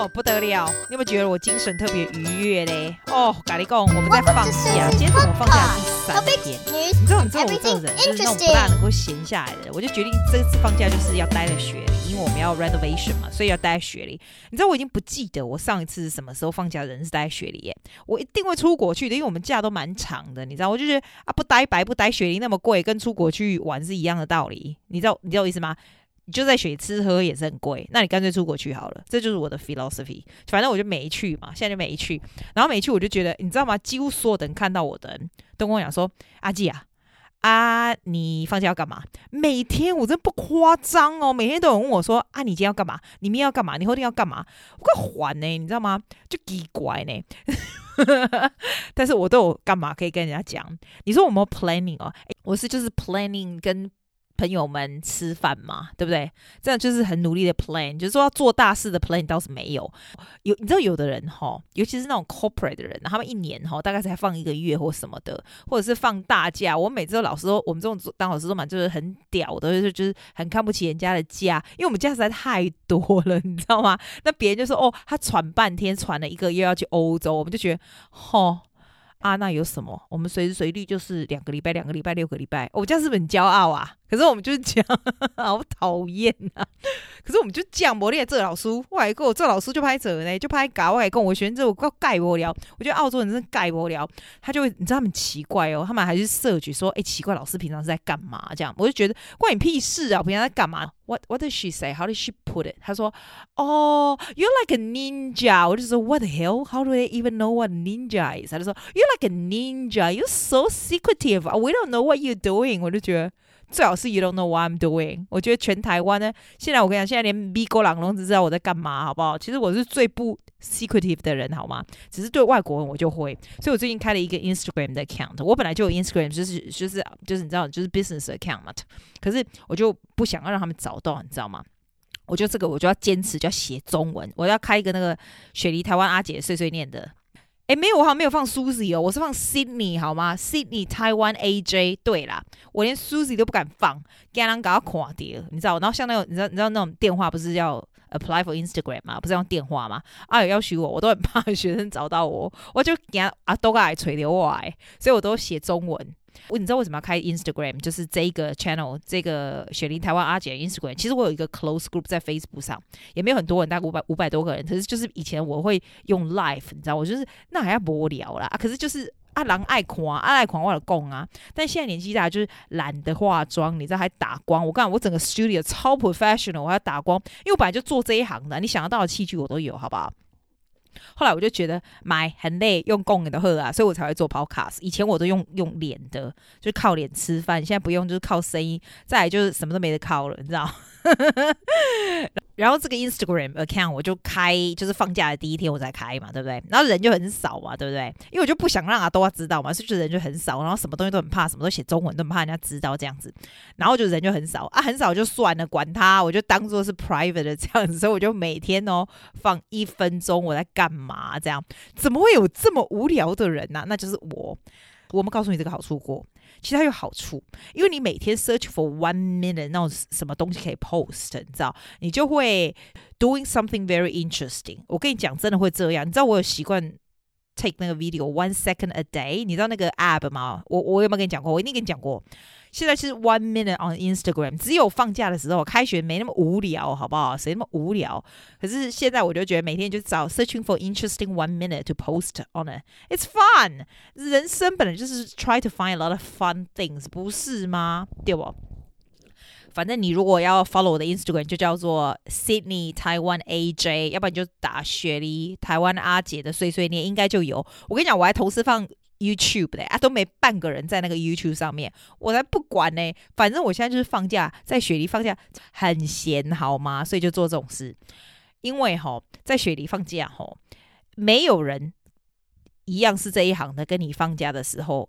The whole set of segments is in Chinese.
哦，不得了！你有沒有覺得我精神特別愉悅嘞？哦，跟你講，我們在放假，今天是我放假第3天。你知道我這種人就是那種不大能夠閒下來的，我就決定這次放假就是要待在雪裡，因為我們要 renovation 嘛，所以要待在雪裡。你知道我已經不記得我上一次是什麼時候放假的人是待在雪裡耶。我一定會出國去的，因為我們假都蠻長的，你知道，我就覺得啊，不待白不待雪裡那麼貴，跟出國去玩是一樣的道理。你知道我意思嗎？你就在雪吃喝也是很貴，那你乾脆出國去好了，這就是我的 philosophy。反正我就沒去嘛，現在就沒去。然後沒去我就覺得，你知道嗎？幾乎所有的人看到我的人都跟我講說：“阿季啊，你放假要幹嘛？”每天我真不誇張哦，每天都有人問我說：“啊，你今天要幹嘛？你明天要幹嘛？你後天要幹嘛？”我快還呢，你知道嗎？就奇怪呢。但是我都有幹嘛可以跟人家講？你說我們 planning 哦，我是就是 planning 跟朋友們吃飯嘛，對不對？這樣就是很努力的 plan， 就是說要做大事的 plan 倒是沒有。你知道有的人尤其是那種 corporate 的人，他們一年大概才放1個月或什麼的，或者是放大假。我每次都老師說，我們這種當老師都蠻就是很屌的，就是很看不起人家的假，因為我們假實在太多了，你知道嗎？那別人就說他喘半天，喘了1個月要去歐洲，我們就覺得那有什麼？我們隨時隨地就是2個禮拜、6個禮拜，我這樣是不是很驕傲啊？可是我們就是這樣，好討厭啊！可是我們就這樣，我練這個老師，我還跟我這老師就拍這呢，就拍搞，我還跟我學生這我蓋不了。我覺得澳洲人真的蓋不了，他就會，你知道他們奇怪他們還是search說，奇怪，老師平常是在幹嘛？這樣我就覺得關你屁事啊！平常在幹嘛？What did she say? How did she put it? 他說，You're like a ninja。我就說 What the hell? How do they even know what a ninja is? 他就說 You're like a ninja. You're so secretive. We don't know what you're doing。我就覺得。最好是 you don't know what I'm doing。我覺得全台灣呢，現在我跟你講，現在連美國人都只知道我在幹嘛，好不好？其實我是最不 secretive 的人，好嗎？只是對外國人我就會，所以我最近開了一個 Instagram 的 account。我本來就有 Instagram，就是你知道，就是 business account 嘛。可是我就不想要讓他們找到，你知道嗎？我就要堅持，就要寫中文。我要開一個那個雪梨台灣阿姐碎碎念的。沒有，我好像沒有放 Susie 我是放 Sydney 好嗎 ？Sydney Taiwan AJ。對啦，我連 Susie 都不敢放，驚人給我看到，你知道？然後像那種你知道那種電話不是要 apply for Instagram 嗎？不是用電話嗎？有要求我都很怕學生找到我，我就驚都來吹掉我所以我都寫中文。你知道為什麼要開 Instagram？ 就是這一個 channel， 這個雪梨台灣阿姐的 Instagram。其實我有一個 close group 在 Facebook 上，也沒有很多人，大概500多個人。可是就是以前我會用 live， 你知道，我就是那還要無聊啦。可是就是人愛看，愛看我就講啊。但現在年紀大，就是懶得化妝，你知道還打光。我告訴你，我整個 studio 超 professional， 我還要打光，因為我本來就做這一行的，你想得到的器具我都有，好不好？後來我就覺得買很累，用講的就好啊，所以我才會做 podcast。以前我都用臉的，就是靠臉吃飯，現在不用，就是靠聲音。再來就是什麼都沒得靠了，你知道？然後這個 Instagram account 我就開，就是放假的第一天我才開嘛，對不對？然後人就很少嘛，對不對？因為我就不想讓都要知道嘛，所以就人就很少。然後什麼東西都很怕，什麼都寫中文都很怕人家知道這樣子。然後就人就很少很少就算了，管他，我就當做是 private 的這樣子。所以我就每天放1分鐘我在幹嘛這樣。怎麼會有這麼無聊的人啊？那就是我。我們告訴你這個好處過，其實它有好處，因為你每天 search for 1 minute 那種什麼東西可以 post， 你知道，你就會 doing something very interesting。我跟你講，真的會這樣。你知道我有習慣 take 那個 video 1 second a day， 你知道那個 app 嗎？我有沒有跟你講過？我一定跟你講過。現在是 1 minute on Instagram， 只有放假的時候，開學沒那麼無聊，好不好？誰那麼無聊？可是現在我就覺得每天就找 searching for interesting 1 minute to post on it. It's fun。人生本來就是 try to find a lot of fun things， 不是嗎？對不？反正你如果要 follow 我的 Instagram， 就叫做 Sydney Taiwan AJ， 要不然你就打雪梨台灣阿姐的碎碎念，應該就有。我跟你講，我還同時放YouTube 的都沒半個人在那個 YouTube 上面，我才不管呢。反正我現在就是放假，在雪梨放假很閒，好嗎？所以就做這種事。因為在雪梨放假沒有人一樣是這一行的，跟你放假的時候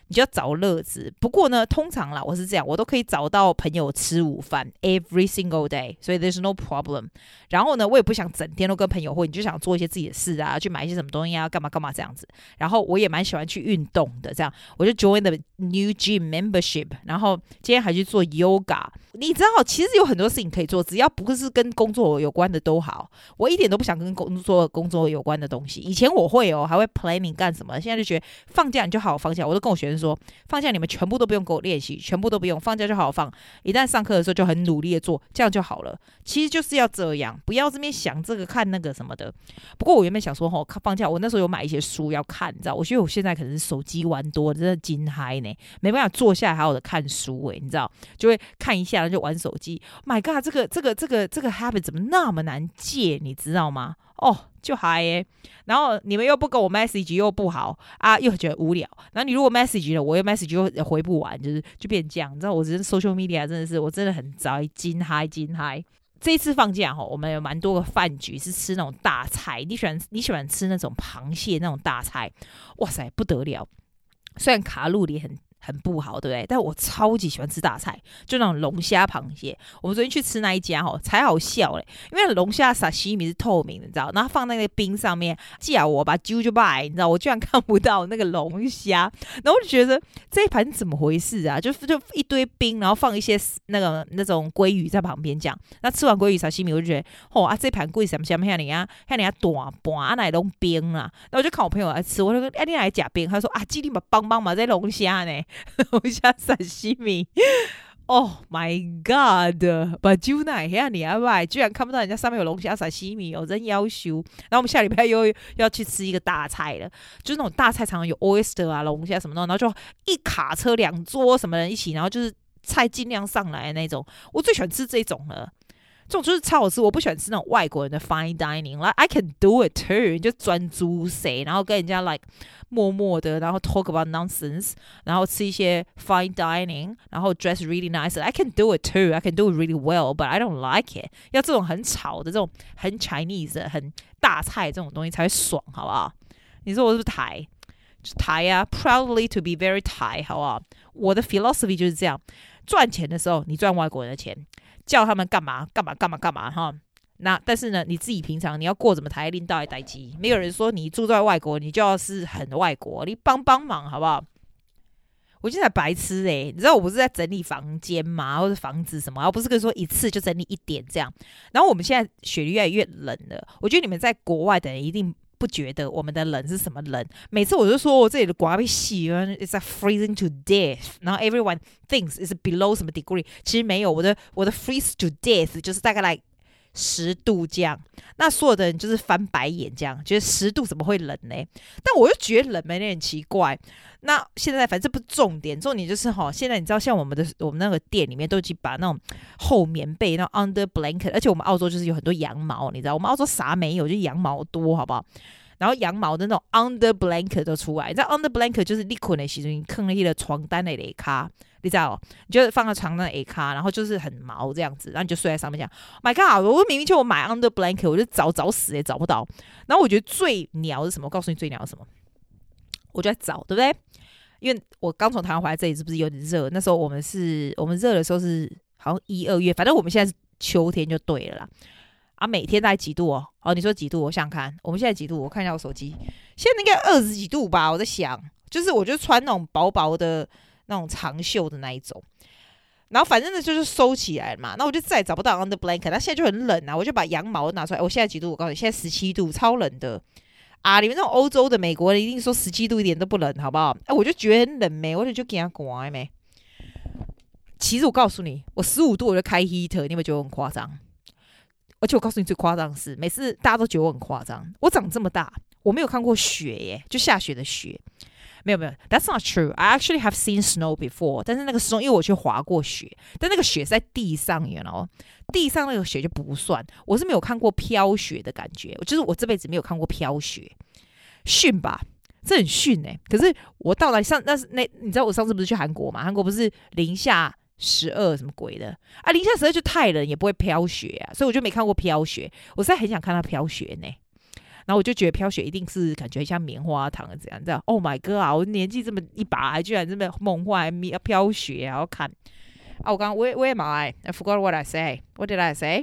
你就要找樂子。不過呢，通常啦，我是這樣，我都可以找到朋友吃午飯 every single day， 所以 there's no problem。然後呢，我也不想整天都跟朋友會，你就想做一些自己的事啊，去買一些什麼東西啊，幹嘛幹嘛這樣子。然後我也蠻喜歡去運動的，這樣我就 join the new gym membership， 然後今天還去做 yoga。你知道，其實有很多事情可以做，只要不是跟工作有關的都好。我一點都不想跟工作有關的東西。以前我會還會 planning 幹什麼，現在就覺得放假你就好好放假。我都跟我學生說，放假你們全部都不用給我練習，全部都不用，放假就好好放。一旦上課的時候就很努力的做，這樣就好了。其實就是要這樣，不要這邊想這個看那個什麼的。不過我原本想說，放假我那時候有買一些書要看，你知道，我覺得我現在可能是手機玩多，真的驚嗨呢，沒辦法坐下來好好的看書你知道，就會看一下就玩手機。My God， 這個 habit 怎麼那麼難戒，你知道嗎？就嗨耶，然後你們又不給我 message 又不好啊，又覺得無聊。然後你如果 message 了，我又 message 又回不完，就變這樣。你知道，我真的 social media 真的是，我真的很宅，驚嗨。這一次放假我們有蠻多個飯局是吃那種大菜。你喜歡吃那種螃蟹那種大菜？哇塞，不得了！雖然卡路里很不好，對不對？但我超級喜歡吃大菜，就那種龍蝦、螃蟹。我們昨天去吃那一家才好笑嘞，因為龍蝦沙西米是透明的，你知道，然後放在那個冰上面，叫我把揪就拜，你知道，我居然看不到那個龍蝦，然後我就覺得這一盤怎麼回事啊？就一堆冰，然後放一些那種鮭魚在旁邊這樣。那吃完鮭魚沙西米，我就覺得這盤鮭什麼像你啊大盤啊，那龍冰啊。然後我就看我朋友來吃，我就說你來吃冰，他說啊，今天把幫嘛在龍蝦呢。龍蝦沙西米 ，Oh my God！ 把酒奶下你啊拜，居然看不到人家上面有龍蝦沙西米，真夭壽。然後我們下禮拜又要去吃一個大菜了，就是那種大菜常常有 oyster 啊、龍蝦什麼的，然後就一卡車2桌什麼人一起，然後就是菜盡量上來的那種。我最喜歡吃這種了。這種就是超好吃，我不喜歡吃那種外國人的 fine dining。Like I can do it too， 你就專注誰，然後跟人家 like 默默的，然後 talk about nonsense， 然後吃一些 fine dining， 然後 dress really nice。I can do it too， I can do it really well，but I don't like it。要這種很吵的、這種很 Chinese 的、很大菜這種東西才會爽，好不好？你說我是不是台？就台啊 ，proudly to be very Thai， 好不好？我的 philosophy 就是這樣：賺錢的時候，你賺外國人的錢。叫他們幹嘛哈？那但是呢，你自己平常你要過怎麼台領導的代誌，沒有人說你住在外國，你就要是很外國，你幫忙好不好？我現在白痴你知道我不是在整理房間嗎？或者房子什麼，而不是跟說一次就整理一點這樣。然後我們現在雪越來越冷了，我覺得你們在國外的人一定不覺得我們的冷是什麼冷。每次我就說我這裡的刮被洗了 ，it's like freezing to death。然後 everyone thinks it's below 什麼 degree， 其實沒有，我的 freeze to death 就是大概來10度這樣。那所有的人就是翻白眼這樣，覺得10度怎麼會冷呢？但我又覺得冷沒點奇怪。那現在反正不是重點，重點就是現在你知道像我們那個店裡面都已經把那種厚棉被，那種 under blanket， 而且我們澳洲就是有很多羊毛，你知道我們澳洲啥沒有，就羊毛多，好不好？然後羊毛的那種 under blanket 都出來，你知道 under blanket 就是你困的時候你放在那個床單的下卡，你知道你就放在床單的下卡，然後就是很毛這樣子，然後你就睡在上面這樣。My God！ 我明明就我買 under blanket， 我就找死也找不到。然後我覺得最鳥是什麼？我告訴你最鳥是什麼？我就在找，對不對？因為我剛從台灣回來，這裡是不是有點熱？那時候我們熱的時候是好像1、2月，反正我們現在是秋天就對了啦。啊，每天大概幾度哦？你說幾度？我想想看，我們現在幾度？我看一下我手機，現在應該20幾度吧？我在想，就是我就穿那種薄薄的那種長袖的那一種，然後反正呢就是收起來嘛。那我就再也找不到 under blanket， 那現在就很冷啊，我就把羊毛拿出來。我現在幾度？我告訴你，現在17度，超冷的啊！你們那種歐洲的、美國人一定說17度一點都不冷，好不好？我就覺得很冷沒，我就給他刮沒。其實我告訴你，我15度我就開 heater， 你有沒有覺得我很誇張？而且我告訴你最誇張的是，每次大家都覺得我很誇張。我長這麼大，我沒有看過雪耶，就下雪的雪，沒有。That's not true. I actually have seen snow before. 但是那個 snow， 因為我去滑過雪，但那個雪是在地上，you know，地上那個雪就不算。我是沒有看過飄雪的感覺，就是我這輩子沒有看過飄雪，遜吧？這很遜哎。可是我到了你知道我上次不是去韓國嘛？韓國不是零下12什麼鬼的啊？零下12就太冷，也不會飄雪啊，所以我就沒看過飄雪。我實在很想看到飄雪呢。 然後我就覺得飄雪一定是感覺像棉花糖這樣，這樣 Oh my god 我年紀這麼一把，還居然這麼夢幻飄雪還要看啊！我剛剛where am I forgot what I say. What did I say?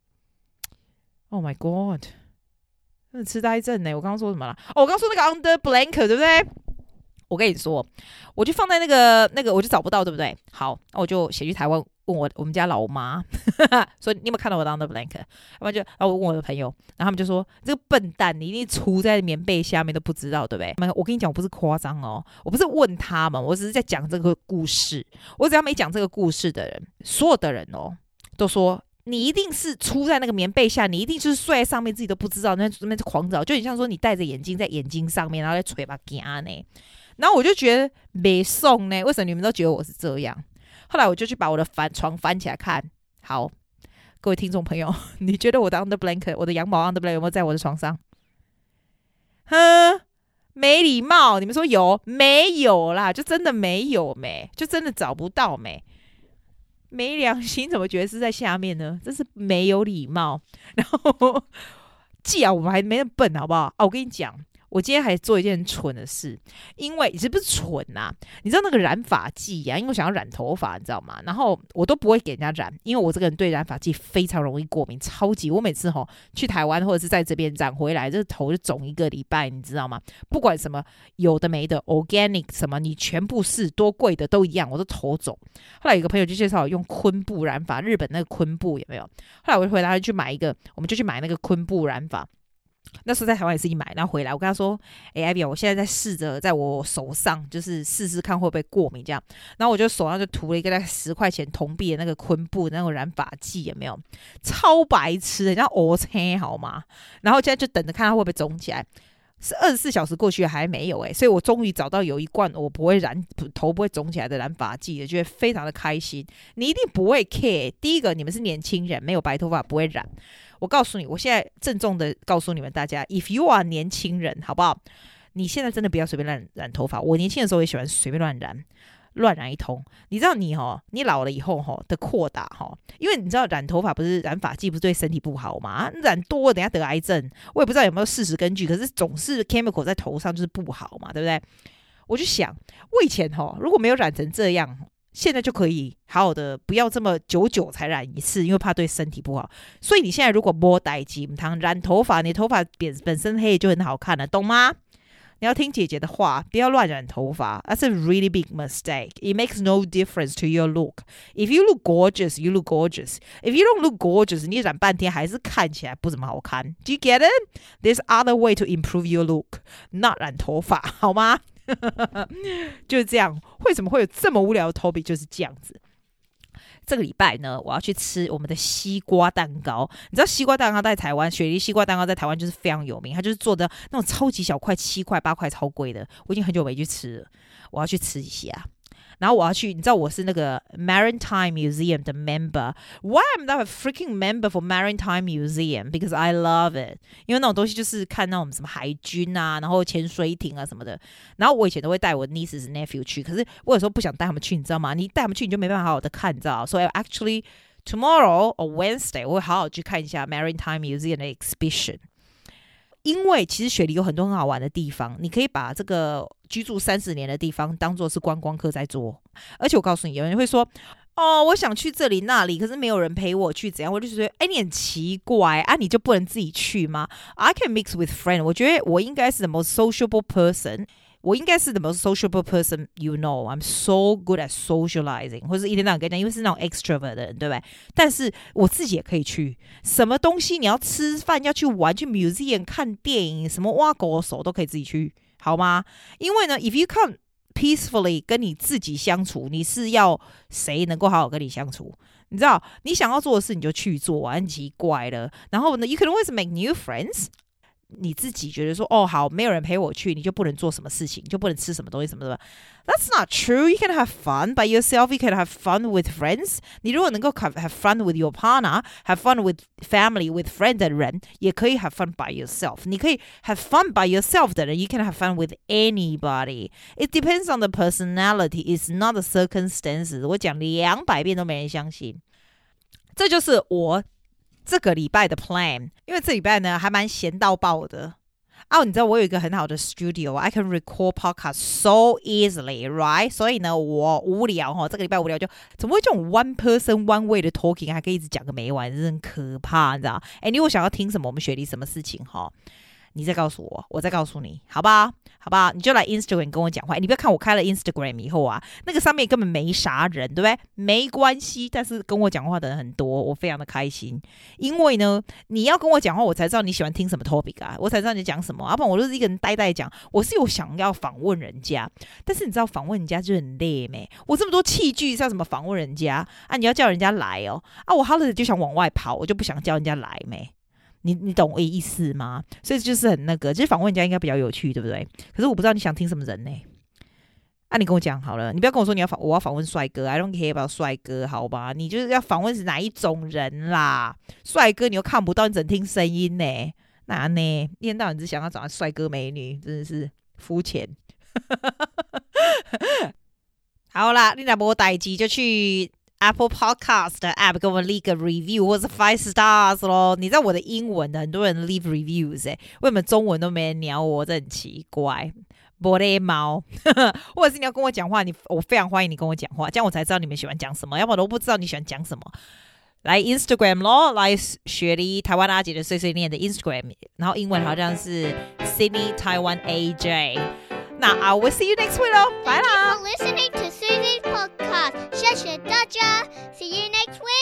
Oh my god 真的痴呆症呢！我剛剛說什麼了？我剛剛說那個 under blanket 對不對？我跟你說，我就放在那個我就找不到，對不對？好，那我就寫去台灣問我們家老媽，所以你有沒有看到我的 under blanket？ 要不然然後我問我的朋友，然後他們就說這個笨蛋，你一定藏在棉被下面都不知道，對不對？我跟你講，我不是誇張哦，我不是問他們，我只是在講這個故事。我只要沒講這個故事的人，所有的人哦都說。你一定是出在那個棉被下，你一定就是睡在上面，自己都不知道，那邊狂找，就很像說你戴着眼鏡在眼睛上面，然後在嘴巴夾呢。然後我就覺得沒送呢，為什麼你們都覺得我是這樣？後來我就去把我的床翻起來看。好，各位聽眾朋友，你覺得我的 under blanket， 我的羊毛 under blanket 有沒有在我的床上？哼，沒禮貌！你們說有沒有啦？就真的沒有沒，就真的找不到沒。沒良心，怎麼覺得是在下面呢？真是沒有禮貌。然後，既然我們還沒那麼笨，好不好？我跟你講。我今天還做一件很蠢的事，因為是不是蠢啊？你知道那個染髮劑啊？因為我想要染頭髮，你知道嗎？然後我都不會給人家染，因為我這個人對染髮劑非常容易過敏，超級。我每次去台灣或者是在這邊染回來，這個頭就腫一個禮拜，你知道嗎？不管什麼有的沒的 organic 什麼，你全部是多貴的都一樣，我都頭腫。後來有個朋友就介紹我用昆布染髮，日本那個昆布有沒有？後來我就回來去買一個，我們就去買那個昆布染髮。那時候在台灣也是一買，然後回來我跟他說：“Abby， 我現在在試着在我手上，就是試試看會不會過敏這樣。”然後我就手上就塗了一個大概10塊錢銅幣的那個昆布那種染髮劑，有沒有？超白痴，人家黑青好嗎？然後現在就等着看它會不會腫起來。是24小時過去還沒有所以我終於找到有一罐我不會染頭不會腫起來的染髮劑，也覺得非常的開心。你一定不會 care。第一個，你們是年輕人，沒有白頭髮不會染。我告訴你，我現在鄭重的告訴你們大家 ，if you are 年輕人，好不好？你現在真的不要隨便染頭髮。我年輕的時候也喜歡隨便亂染一通。你知道你老了以後的擴大因為你知道染頭髮不是染髮劑不是對身體不好嗎？染多了等下得癌症，我也不知道有沒有事實根據，可是總是 chemical 在頭上就是不好嘛，對不对？我就想，我以前如果沒有染成這樣。現在就可以好好的，不要這麼久才染一次，因為怕對身體不好。所以你現在如果沒代誌，唔染頭髮，你頭髮本身黑就很好看了，懂嗎？你要聽姐姐的話，不要亂染頭髮。That's a really big mistake. It makes no difference to your look. If you look gorgeous, you look gorgeous. If you don't look gorgeous, 你染半天還是看起來不怎麼好看。Do you get it? There's other way to improve your look. Not 染頭髮，好嗎？就是這樣。為什麼會有這麼無聊的 topic？ 就是這樣子。這個禮拜呢，我要去吃我們的西瓜蛋糕。你知道西瓜蛋糕在台灣，雪梨西瓜蛋糕在台灣就是非常有名，它就是做的那種超級小塊，7塊8塊，超貴的。我已經很久沒去吃了，我要去吃一下。然後我要去，你知道我是那個 Maritime Museum 的 member。 Why I'm not a freaking member for Maritime Museum? Because I love it。 因為那種東西就是看那種什麼海軍啊，然後潛水艇啊什麼的。然後我以前都會帶我 nieces nephew 去，可是我有時候不想帶他們去，你知道嗎？你帶他們去你就沒辦法好好的看，你知道。So actually tomorrow or Wednesday 我會好好去看一下 Maritime Museum 的 exhibition。因為其實雪梨有很多很好玩的地方，你可以把這個居住30年的地方當作是觀光客在做。而且我告訴你，有人會說，我想去這裡那裡，可是沒有人陪我去，怎樣？我就覺得，你很奇怪啊，你就不能自己去嗎？ I can mix with friends。 我覺得我應該是 the most sociable person。我應該是 the most sociable person, you know. I'm so good at socializing. 或者一天到晚跟你講，因為是那種 extrovert 的人，對不對？但是我自己也可以去，什麼東西你要吃飯、要去玩、去 museum 看電影，什麼挖狗手都可以自己去，好嗎？因為呢 ，if you can't peacefully 跟你自己相處，你是要誰能夠好好跟你相處？你知道，你想要做的事你就去做，很奇怪了。然後呢 ，you can always make new friends。你自己覺得說好，沒有人陪我去，你就不能做什麼事情，就不能吃什麼東西什麼的。That's not true. You can have fun by yourself. You can have fun with friends. 你如果能夠 have fun with your partner, have fun with family, with friends 的人，也可以 have fun by yourself. 你可以 have fun by yourself 的人， you can have fun with anybody. It depends on the personality. It's not the circumstances. 我講200遍都沒人相信。這就是我這個禮拜的 plan， 因為這禮拜呢還蠻閒到爆的， 你知道我有一個很好的 studio，I can record podcast so easily, right？ 所以呢，我無聊這個禮拜無聊就怎麼會這種 one person one way 的 talking 還可以一直講個沒完，真的很可怕，你知道？你如果想要聽什麼，我們雪梨什麼事情你再告訴我，我再告訴你，好吧？好吧，你就來 Instagram 跟我講話。你不要看我開了 Instagram 以後啊，那個上面根本沒啥人，對不對？沒關係，但是跟我講話的人很多，我非常的開心。因為呢，你要跟我講話，我才知道你喜歡聽什麼 topic 啊，我才知道你講什麼。要不然我就是一個人呆呆講。我是有想要訪問人家，但是你知道訪問人家就很累咩？我這麼多器具，像什麼訪問人家啊？你要叫人家來哦我好了就想往外跑，我就不想叫人家來咩？你懂我意思嗎？所以就是很那個，就是訪問人家應該比較有趣，對不對？可是我不知道你想聽什麼人呢？你跟我講好了，你不要跟我說我要訪問帥哥 ，I don't care about 帥哥，好吧？你就是要訪問是哪一種人啦？帥哥你又看不到，你只能聽聲音呢？那呢？一天到晚只想要找到帥哥美女，真的是膚淺。好啦，你若沒代誌就去Apple Podcast 的 App 給我們 leave 個 review 或是 5 stars 咯。你知道我的英文的很多人 leave reviews 為什麼中文都沒人鳥我？這很奇怪。玻璃貓，或者是你要跟我講話，我非常歡迎你跟我講話，這樣我才知道你們喜歡講什麼，要不然我都不知道你喜歡講什麼。來 Instagram 咯，來雪梨台灣阿姐的碎碎念的 Instagram， 然後英文好像是 Sydney Taiwan AJ。那I will see you next week 咯，拜啦。 Thank you for listening to Susie's podcast，謝謝大家 ，See you next week。